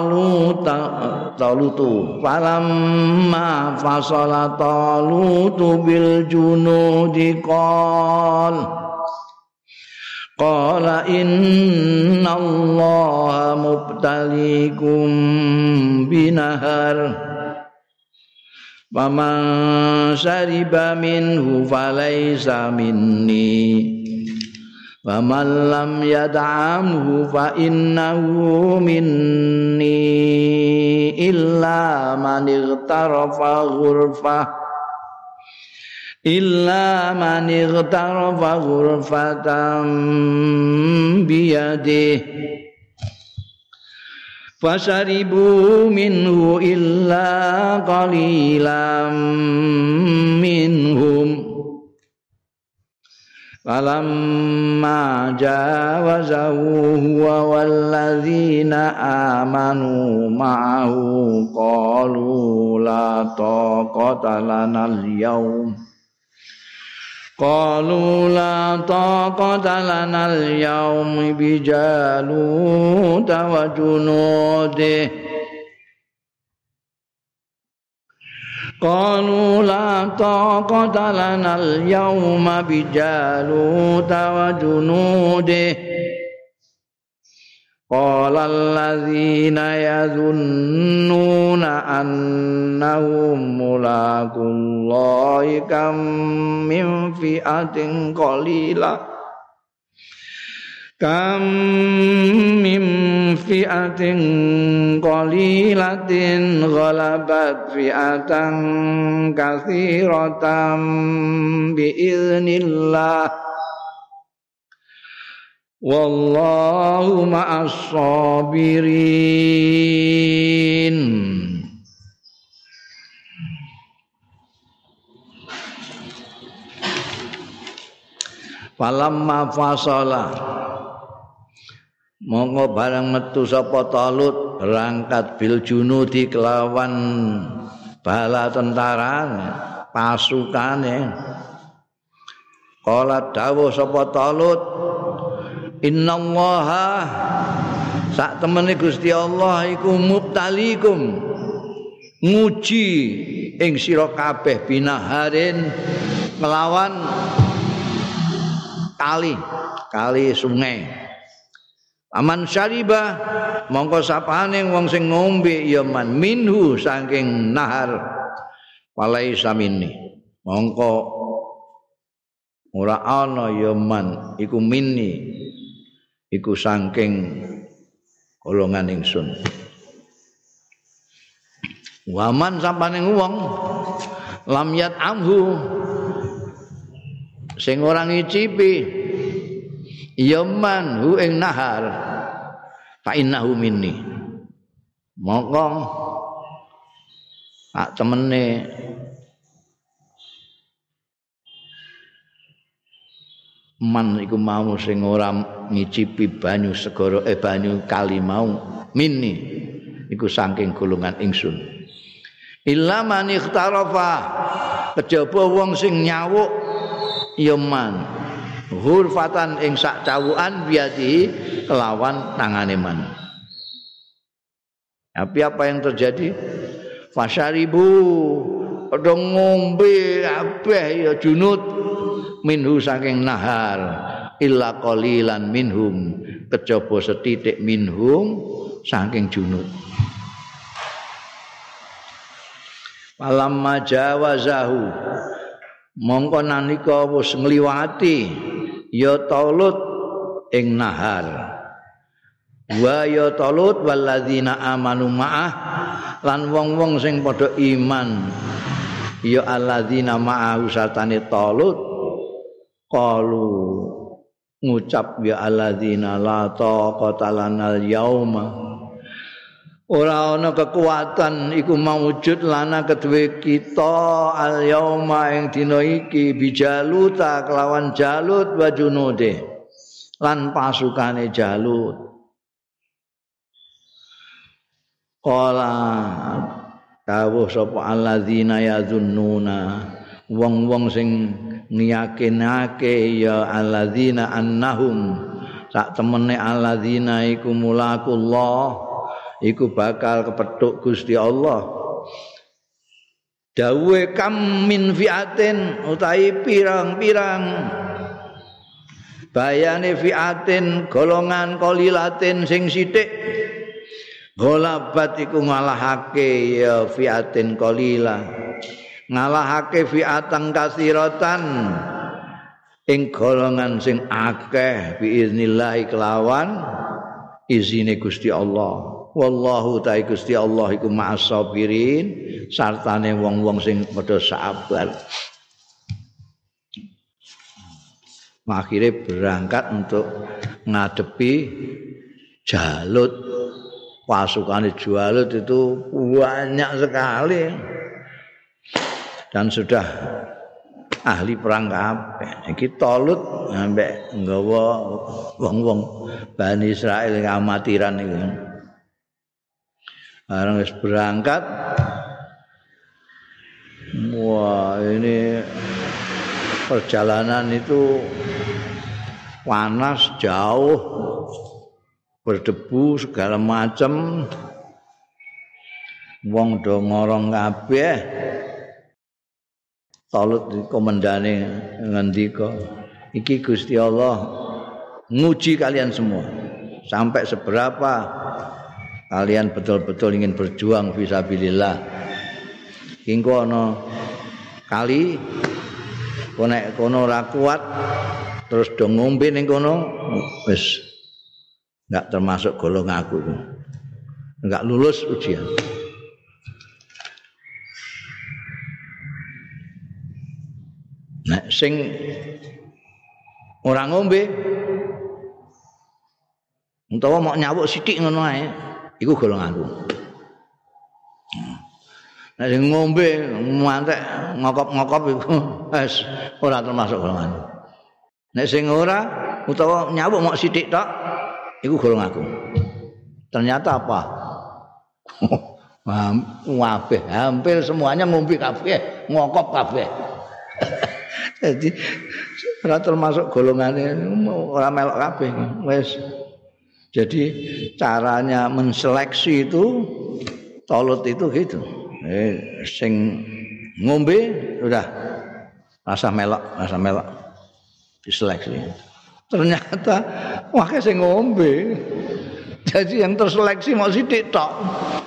Talutu falamma fasala Talutu bil junudi qala innallaha mubtaliikum binahar faman syariba minhu falaysa minni wa man lam yad'amhu fa innahu minni illa man ightarafa ghurfatan biyadihi fasaribu minhu illa qalilan minhum falamma jawazahu huwa walladzina amanu ma'ahu qalu la taqata lana al-yawma bijaluta wa junudihi قالوا لا طاقة لنا اليوم بجالوت وجنوده قال الذين يظنون أنهم ملاقو الله كم من فئة qalilatin ghalabat fi'atan katsiratan biiznillah wallahu ma'as sabirin. Falamma fasala monggo barang metu sapa Talut berangkat bil junudi kelawan bala tentarane pasukane qala dawuh sapa Talut innallaha sak temene Gusti Allah iku mubtalikum nguji ing sira kabeh binaharin melawan kali sungai. Aman syariba mongko sapane wong sing ngombe ya man minhu saking nahar walaisa minni mongko ora ana ya man iku minni iku saking golongan ingsun. Waman sapane wong lam yat amhu sing ora ngicipi yaman hu ing nahar fa innahu minni mongko tak temene man iku mau sing ora ngicipi banyu segara banyu kali mau minni iku saking golongan ingsun illa man ikhtarafa kejaba wong sing nyawuk yaman hurfatan ing sak cawukan biati kelawan tangane man. Tapi apa yang terjadi? Fasyaribu padha ngombe kabeh ya junud minhu saking nahar illa qalilan minhum kejaba setitik minhum saking junud. Falamma jawazahu mongko nalika wis ngliwati ya Talut ing nahar wa ya Talut walladzina amanu ma'ah lan wong-wong sing padha iman ya alladzina ma'ahu sartane Talut qalu ngucap ya alladzina la taqata lanal yauma ora ana kekuatan iku maujud lana kedue kita al yauma ing dina iki bijaluta kelawan Jalut wa junude lan pasukane Jalut qala dawuh sapa alladzina yazunnuna wong-wong sing ngiyakinake ya alladzina annahum sak temene alladzina iku mulakullah iku bakal kepethuk Gusti Allah dawuhe kam min fiatin utahi pirang-pirang bayane fiatin golongan qalilatin sing sithik golabat iku ngalahake ya fiatin qalila ngalahake fiatan kasiratan ing golongan sing akeh biiznillah kelawan izine Gusti Allah wallahu ta'ala Gusti Allah iku ma'as sabirin sartane wong-wong sing padha sabar akhirnya berangkat untuk ngadepi Jalut pasukan Jalut itu banyak sekali dan sudah ahli perang kabeh iki Talut ambek nggawa wong-wong Bani Israil ngamatiran iki bareng wis berangkat wah ini perjalanan itu panas jauh berdebu segala macam wong do ngorong kabeh Talut komandane ngendika iki Gusti Allah nguji kalian semua sampai seberapa kalian betul-betul ingin berjuang fisabilillah engko ana kali nek kono ora kuat terus do ngombe ning kono wis enggak termasuk golongan aku itu enggak lulus ujian nek sing ora ngombe utawa mau nyawuk sithik ngono ae iku golonganku. Nek sing ngombe mantek ngokop-ngokop iku wis ora termasuk golonganku. Nek sing ora utawa nyawuk mok sithik tok iku golonganku. Ternyata apa? Kabeh hampir semuanya ngombe kabeh, ngokop kabeh. Jadi ora termasuk golongane ora melok kabeh wis. Jadi caranya menseleksi itu Talut itu gitu. Sing ngombe udah rasa melok diseleksi. Ternyata wah sing ngombe. Jadi yang terseleksi mau sithik tok.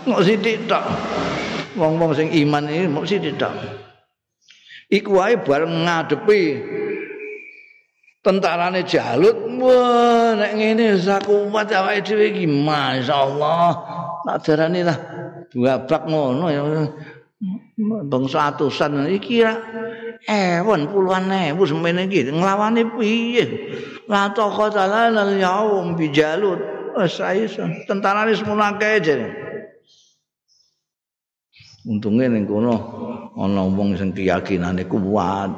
Wong-wong sing iman ini mau sithik tok. Iku wae bareng ngadepi tentarane Jalut, wah nek ngene sakuwat awake dhewe iki masyaallah. Tak darani lah duabrak ngono ya. Bangsa atusan iki ra ewon puluhan ewu semene iki nglawane piye? La taqata lana al-yaum bi Jalut. Wis tentarane semono akeh jare. Untunge ning kono ana wong sing keyakinane kuat.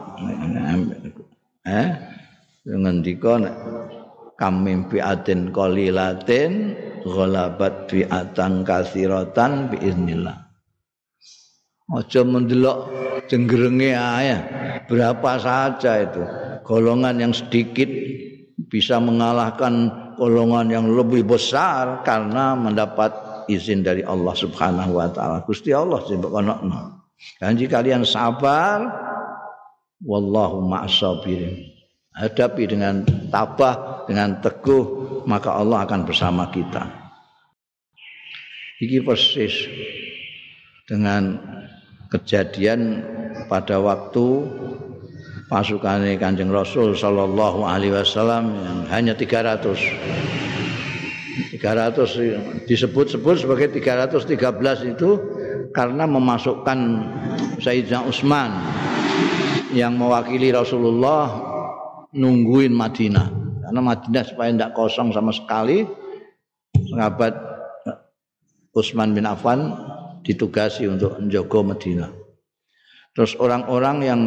Ngendika nek kam mimpi atin qalilatin ghalabat fi'atan katsiratan biiznillah. Aja mendelok jenggerenge ae. Berapa saja itu golongan yang sedikit bisa mengalahkan golongan yang lebih besar karena mendapat izin dari Allah Subhanahu wa taala. Gusti Allah sing kono. Janji kalian sabar wallahu ma'as-sabirin. Hadapi dengan tabah, dengan teguh, maka Allah akan bersama kita. Iki persis dengan kejadian pada waktu pasukane Kanjeng Rasul sallallahu alaihi wasallam yang hanya 300 disebut-sebut sebagai 313 itu karena memasukkan Sayyidina Utsman yang mewakili Rasulullah nungguin Madinah karena Madinah supaya tidak kosong sama sekali. Sahabat Utsman bin Affan ditugasi untuk menjaga Madinah. Terus orang-orang yang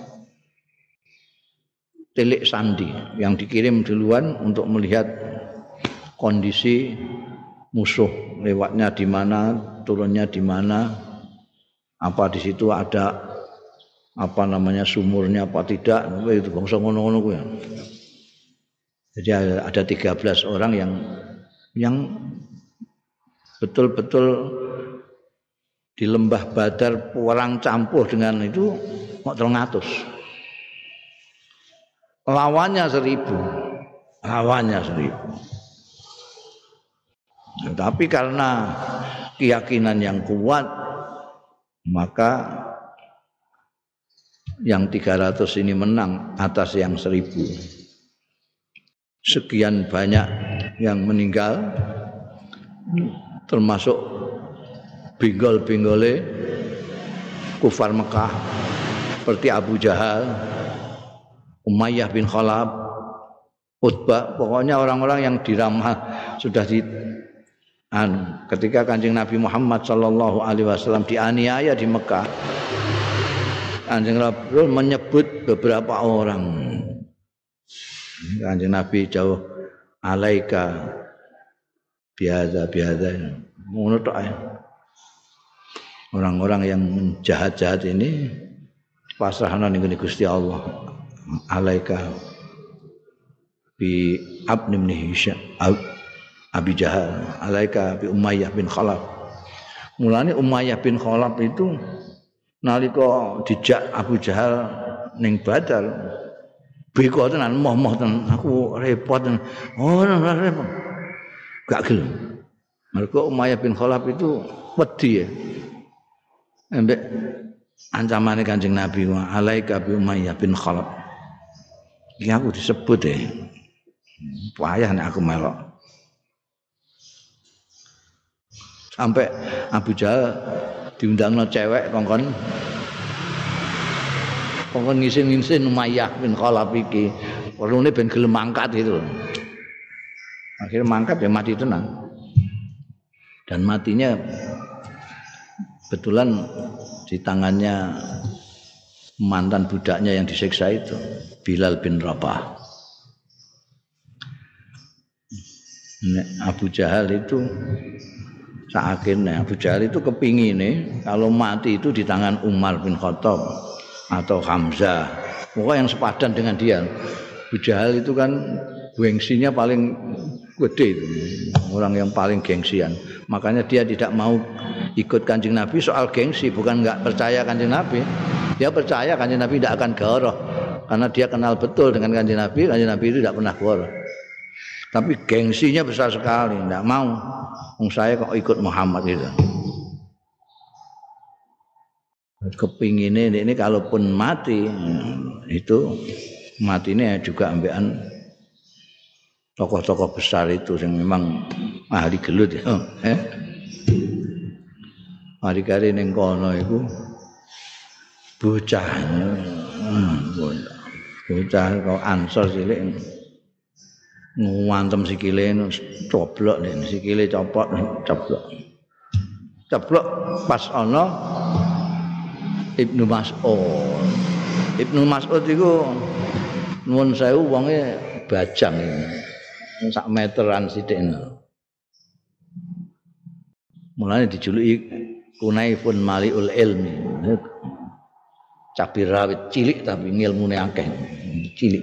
telik sandi yang dikirim duluan untuk melihat kondisi musuh lewatnya di mana, turunnya di mana, apa di situ ada apa namanya sumurnya apa tidak, itu bangsa ngono-ngono kuwi. Jadi ada 13 orang yang betul-betul di lembah Badar perang campur dengan itu kok 300. Lawannya 1000. Tapi karena keyakinan yang kuat, maka yang 300 ini menang atas yang 1000. Sekian banyak yang meninggal, termasuk binggol-binggole kufar Mekah seperti Abu Jahal, Umayyah bin Khalaf, Utbah, pokoknya orang-orang yang diramah sudah ketika Kanjeng Nabi Muhammad sallallahu alaihi wasallam dianiaya di Mekah, Kanjeng Rasul menyebut beberapa orang. Kanjeng Nabi jauh alaika biadza ngono tok ae. Orang-orang yang jahat-jahat ini pasrahna ning Gusti Allah. Alaika bi Abn bin Hisham Abi Jahal, alaika bi Umayyah bin Khalaf. Mulane Umayyah bin Khalaf itu nalika dijak Abu Jahal ning Badar, beko tenan, moh-moh tenan, aku repot tenan. Oh, ora repot. Gak gelem. Mergo Umayyah bin Khalaf itu wedi ya. Ambek ancamane Kanjeng Nabi, alaika bi Umayyah bin Khalaf. Iki aku disebut payah nek aku melok. Sampai Abu Jahal diundangno cewek kongkon ngisin-ngisin Umayyah bin Khalaf iki. Perlune ben gelem mangkat gitu. Akhirnya mangkat ya mati tenang. Dan matinya kebetulan di tangannya mantan budaknya yang disiksa itu, Bilal bin Rabah. Abu Jahal itu akhirnya Abu Jahal itu kepingin kalau mati itu di tangan Umar bin Khattab atau Hamzah, pokoknya yang sepadan dengan dia. Abu Jahal itu kan gengsinya paling gede, orang yang paling gengsian. Makanya dia tidak mau ikut Kanjeng Nabi soal gengsi, bukan enggak percaya Kanjeng Nabi. Dia percaya Kanjeng Nabi tidak akan goroh karena dia kenal betul dengan Kanjeng Nabi itu tidak pernah goroh. Tapi gengsinya besar sekali, tidak mau. Saya kok ikut Muhammad itu. Kepinginnya ini kalaupun mati itu matinya juga ambekan tokoh-tokoh besar itu yang memang ahli gelut ya. Hari-hari ning kono iku bocah kok Ansor cilik ngantem sikile coblok nek sikile copot ceblok pas ana Ibnu Mas'ud iku nuwun sewu wonge bajang sak meteran sithik. Mulane dijuluki Kunaifun Maliul Ilmi. Cabai rawit cilik tapi ngilmune akeh. Cilik.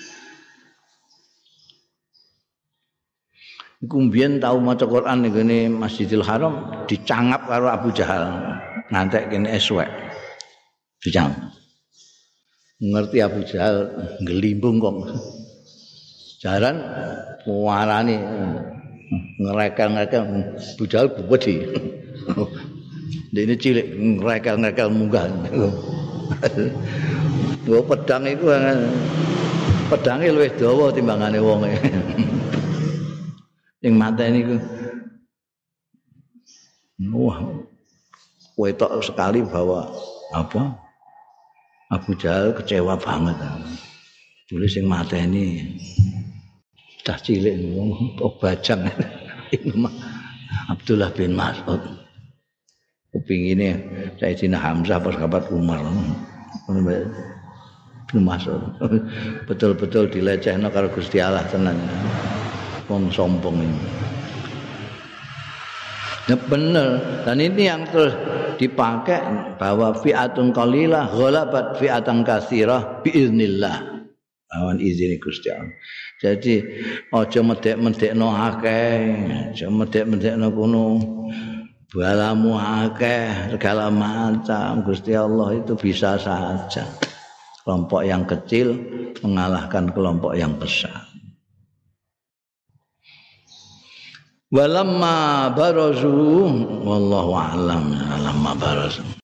Iku mbiyen tau maca Quran ning ngene Masjidil Haram dicangap karo Abu Jahal. Ngantek kene eswek. Dicangap. Ngerti Abu Jahal ngelimbung kok. Jaran warani ngerekel-ngerekel Abu Jahal wedi. Dene cilik ngerekel-ngerekel munggah. Nggo pedang iku pedange luwih dawa timbangane wonge. Sing mateni iku wah, kowe tok sekali bahwa apa? Abu Jahal kecewa banget. Dulu sing mateni cah cilik wong bajang. Abdullah bin Mas'ud. Kepingine Sayyidina Hamzah pas kabat Umar. Bin Mas'ud. Betul-betul dilecehno karo Gusti Allah tenan. Wong sombong ini. Ya bener, dan ini yang terus dipakai bahwa fi'atun qalilah ghalabat fi'atan katsirah biiznillah. Awan izin Gusti Allah. Jadi aja medhek-medhekno akeh, aja medhek-medhekno kuno. Balamu akeh segala macam. Gusti Allah itu bisa saja. Kelompok yang kecil mengalahkan kelompok yang besar. Walamma barazu wallahu a'lam lamma barazu